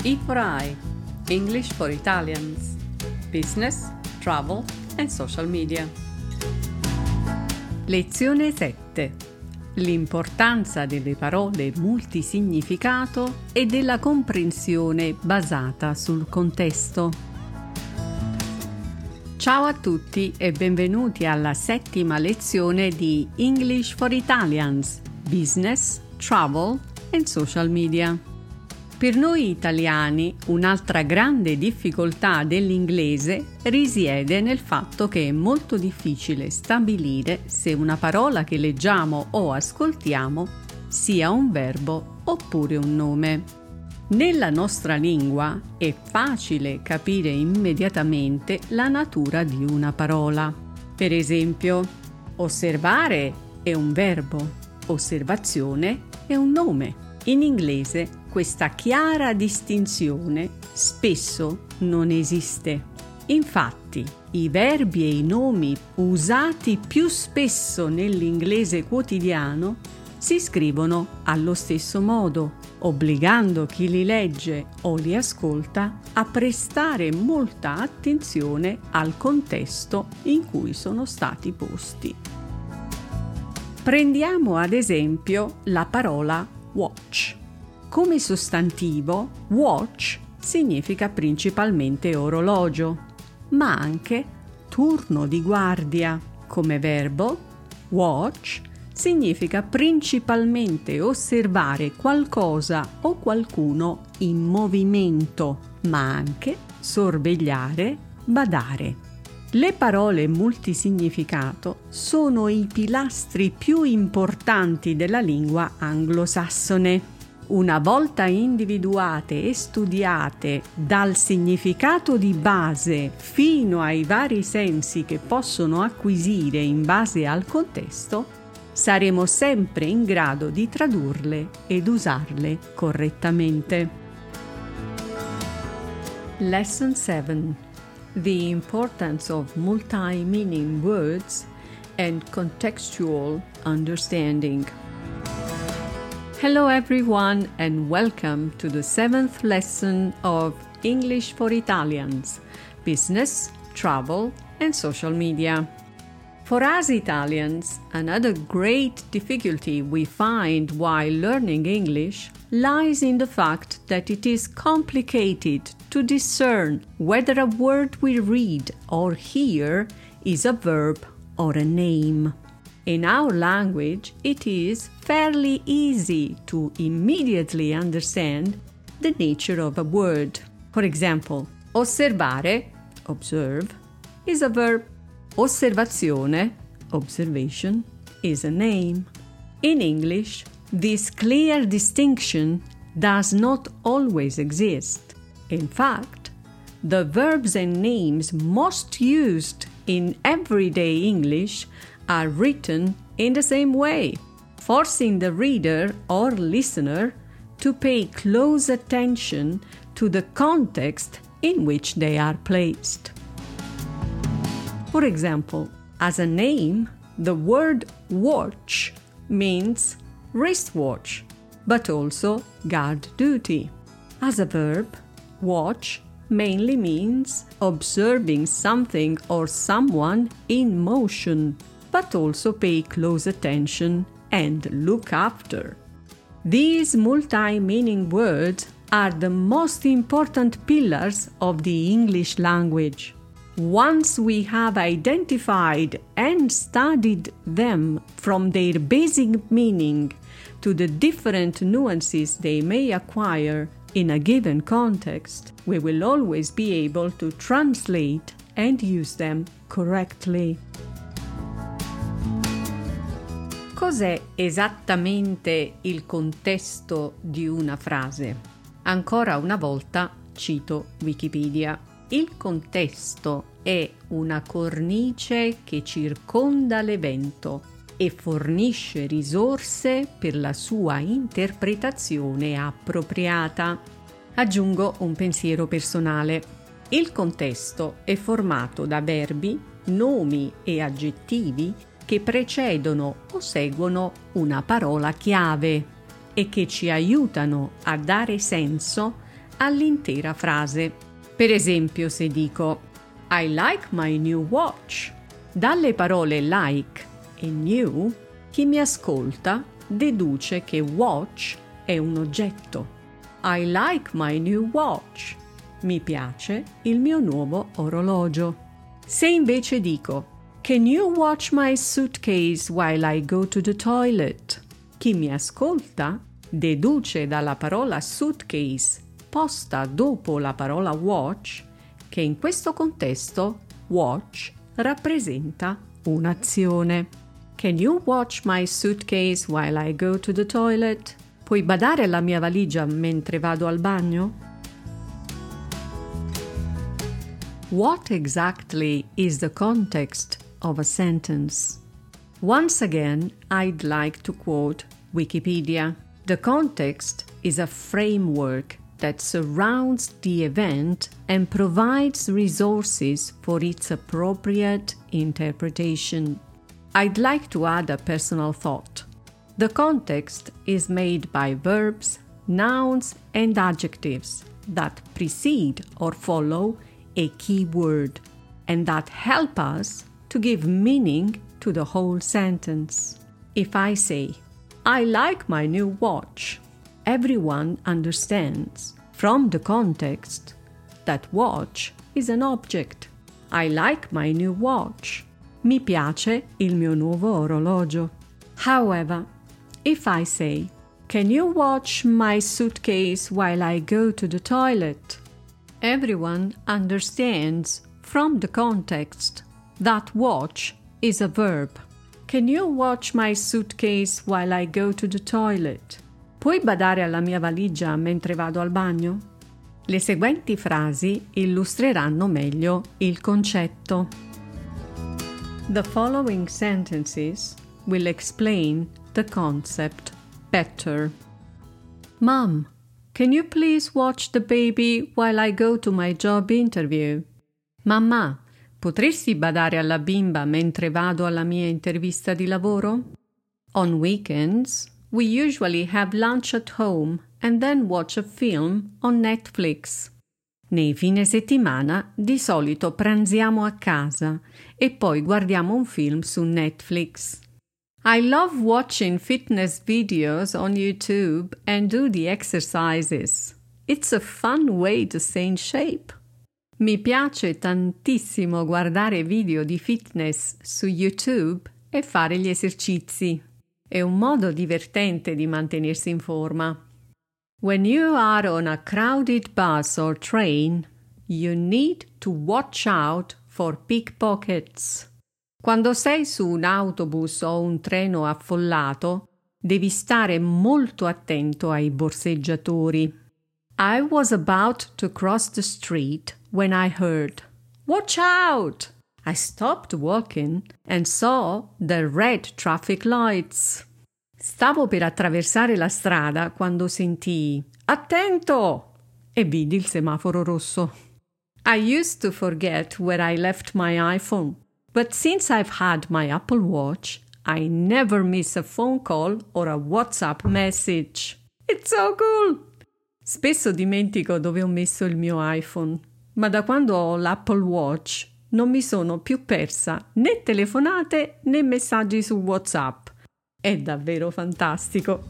E for I, English for Italians, Business, Travel and Social Media. Lezione 7. L'importanza delle parole multisignificato e della comprensione basata sul contesto. Ciao a tutti e benvenuti alla 7ª lezione di English for Italians, Business, Travel and Social Media. Per noi italiani, un'altra grande difficoltà dell'inglese risiede nel fatto che è molto difficile stabilire se una parola che leggiamo o ascoltiamo sia un verbo oppure un nome. Nella nostra lingua è facile capire immediatamente la natura di una parola. Per esempio, osservare è un verbo, osservazione è un nome. In inglese questa chiara distinzione spesso non esiste. Infatti, i verbi e i nomi usati più spesso nell'inglese quotidiano si scrivono allo stesso modo, obbligando chi li legge o li ascolta a prestare molta attenzione al contesto in cui sono stati posti. Prendiamo ad esempio la parola watch. Come sostantivo, watch significa principalmente orologio, ma anche turno di guardia. Come verbo, watch significa principalmente osservare qualcosa o qualcuno in movimento, ma anche sorvegliare, badare. Le parole multisignificato sono i pilastri più importanti della lingua anglosassone. Una volta individuate e studiate dal significato di base fino ai vari sensi che possono acquisire in base al contesto, saremo sempre in grado di tradurle ed usarle correttamente. Lesson 7. The importance of multi-meaning words and contextual understanding. Hello everyone and welcome to the 7th lesson of English for Italians, Business, Travel and Social Media. For us Italians, another great difficulty we find while learning English lies in the fact that it is complicated to discern whether a word we read or hear is a verb or a name. In our language, it is fairly easy to immediately understand the nature of a word. For example, osservare, observe, is a verb. Osservazione, observation, is a name. In English, this clear distinction does not always exist. In fact, the verbs and names most used in everyday English are written in the same way, forcing the reader or listener to pay close attention to the context in which they are placed. For example, as a name, the word watch means wristwatch, but also guard duty. As a verb, watch mainly means observing something or someone in motion, but also pay close attention and look after. These multi-meaning words are the most important pillars of the English language. Once we have identified and studied them from their basic meaning to the different nuances they may acquire in a given context, we will always be able to translate and use them correctly. Cos'è esattamente il contesto di una frase? Ancora una volta cito Wikipedia. Il contesto è una cornice che circonda l'evento e fornisce risorse per la sua interpretazione appropriata. Aggiungo un pensiero personale. Il contesto è formato da verbi, nomi e aggettivi che precedono o seguono una parola chiave e che ci aiutano a dare senso all'intera frase. Per esempio, se dico I like my new watch, dalle parole like e new, chi mi ascolta deduce che watch è un oggetto. I like my new watch. Mi piace il mio nuovo orologio. Se invece dico Can you watch my suitcase while I go to the toilet? Chi mi ascolta deduce dalla parola suitcase posta dopo la parola watch che in questo contesto watch rappresenta un'azione. Can you watch my suitcase while I go to the toilet? Puoi badare alla mia valigia mentre vado al bagno? What exactly is the context of a sentence? Once again, I'd like to quote Wikipedia. The context is a framework that surrounds the event and provides resources for its appropriate interpretation. I'd like to add a personal thought. The context is made by verbs, nouns, and adjectives that precede or follow a key word and that help us to give meaning to the whole sentence. If I say, I like my new watch, everyone understands from the context that watch is an object. I like my new watch. Mi piace il mio nuovo orologio. However, if I say, Can you watch my suitcase while I go to the toilet? Everyone understands from the context that watch is a verb. Can you watch my suitcase while I go to the toilet? Puoi badare alla mia valigia mentre vado al bagno? Le seguenti frasi illustreranno meglio il concetto. The following sentences will explain the concept better. Mom, can you please watch the baby while I go to my job interview? Mamma, potresti badare alla bimba mentre vado alla mia intervista di lavoro? On weekends, we usually have lunch at home and then watch a film on Netflix. Nei fine settimana di solito pranziamo a casa e poi guardiamo un film su Netflix. I love watching fitness videos on YouTube and do the exercises. It's a fun way to stay in shape. Mi piace tantissimo guardare video di fitness su YouTube e fare gli esercizi. È un modo divertente di mantenersi in forma. When you are on a crowded bus or train, you need to watch out for pickpockets. Quando sei su un autobus o un treno affollato, devi stare molto attento ai borseggiatori. I was about to cross the street when I heard, "Watch out!" I stopped walking and saw the red traffic lights. Stavo per attraversare la strada quando sentii "Attento!" e vidi il semaforo rosso. I used to forget where I left my iPhone, but since I've had my Apple Watch, I never miss a phone call or a WhatsApp message. It's so cool! Spesso dimentico dove ho messo il mio iPhone, ma da quando ho l'Apple Watch non mi sono più persa né telefonate né messaggi su WhatsApp. È davvero fantastico!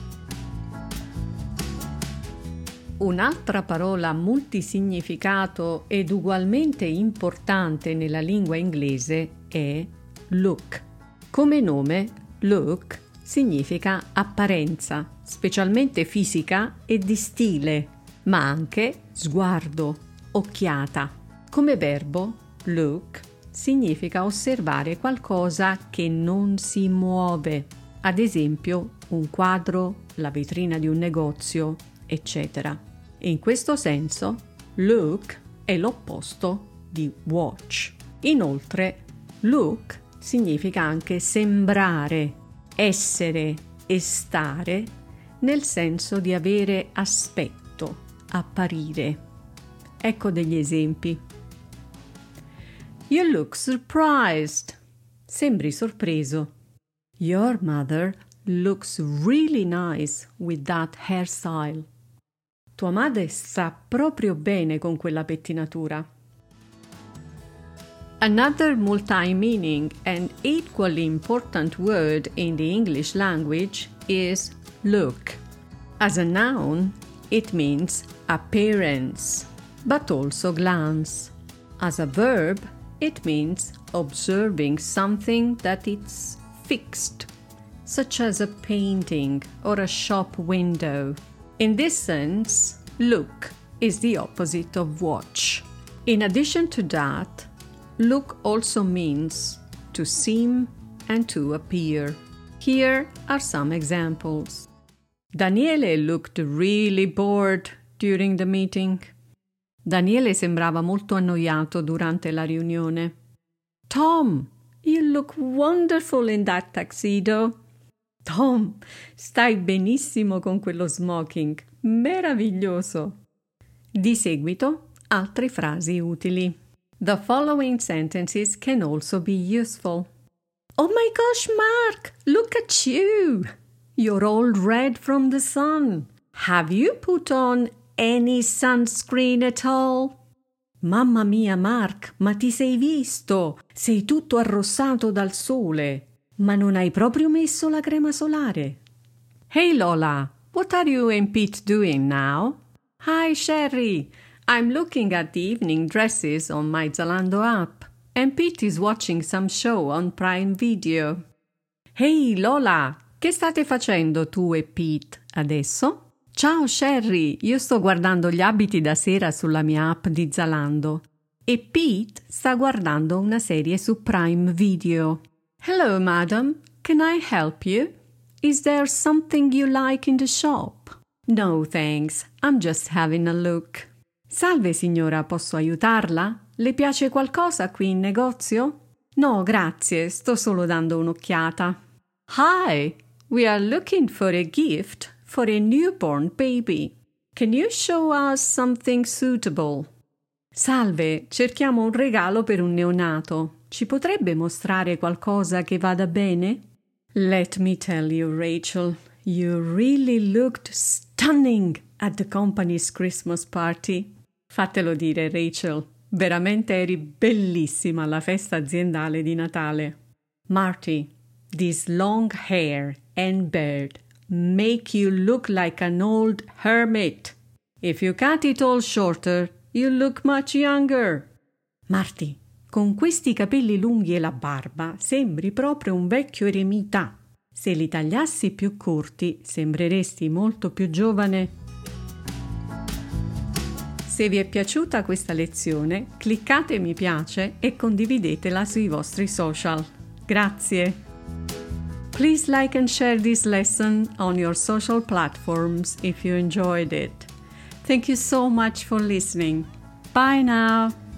Un'altra parola multisignificato ed ugualmente importante nella lingua inglese è look. Come nome, look significa apparenza, specialmente fisica e di stile, ma anche sguardo, occhiata. Come verbo, look significa osservare qualcosa che non si muove, ad esempio un quadro, la vetrina di un negozio, eccetera. In questo senso, look è l'opposto di watch. Inoltre, look significa anche sembrare, essere e stare nel senso di avere aspetto, apparire. Ecco degli esempi. You look surprised. Sembri sorpreso. Your mother looks really nice with that hairstyle. tua madre sta proprio bene con quella pettinatura. Another multi-meaning and equally important word in the English language is look. As a noun, it means appearance, but also glance. As a verb, it means observing something that is fixed, such as a painting or a shop window. In this sense, look is the opposite of watch. In addition to that, look also means to seem and to appear. Here are some examples. Daniele looked really bored during the meeting. Daniele sembrava molto annoiato durante la riunione. Tom, you look wonderful in that tuxedo. Tom, stai benissimo con quello smoking. Meraviglioso. Di seguito, altre frasi utili. The following sentences can also be useful. Oh my gosh, Mark, look at you. You're all red from the sun. Have you put on any sunscreen at all? Mamma mia, Mark, ma ti sei visto? Sei tutto arrossato dal sole. Ma non hai proprio messo la crema solare? Hey Lola, what are you and Pete doing now? Hi Sherry, I'm looking at the evening dresses on my Zalando app, and Pete is watching some show on Prime Video. Hey Lola, che state facendo tu e Pete adesso? Ciao Sherry, io sto guardando gli abiti da sera sulla mia app di Zalando e Pete sta guardando una serie su Prime Video. Hello madam, can I help you? Is there something you like in the shop? No thanks, I'm just having a look. Salve signora, posso aiutarla? Le piace qualcosa qui in negozio? No, grazie, sto solo dando un'occhiata. Hi, we are looking for a gift for a newborn baby. Can you show us something suitable? Salve, cerchiamo un regalo per un neonato. Ci potrebbe mostrare qualcosa che vada bene? Let me tell you, Rachel, you really looked stunning at the company's Christmas party. Fatelo dire, Rachel, veramente eri bellissima alla festa aziendale di Natale. Marty, this long hair and beard make you look like an old hermit. If you cut it all shorter, you look much younger. Marty, con questi capelli lunghi e la barba sembri proprio un vecchio eremita. Se li tagliassi più corti, sembreresti molto più giovane. Se vi è piaciuta questa lezione, cliccate mi piace e condividetela sui vostri social. Grazie! Please like and share this lesson on your social platforms if you enjoyed it. Thank you so much for listening. Bye now!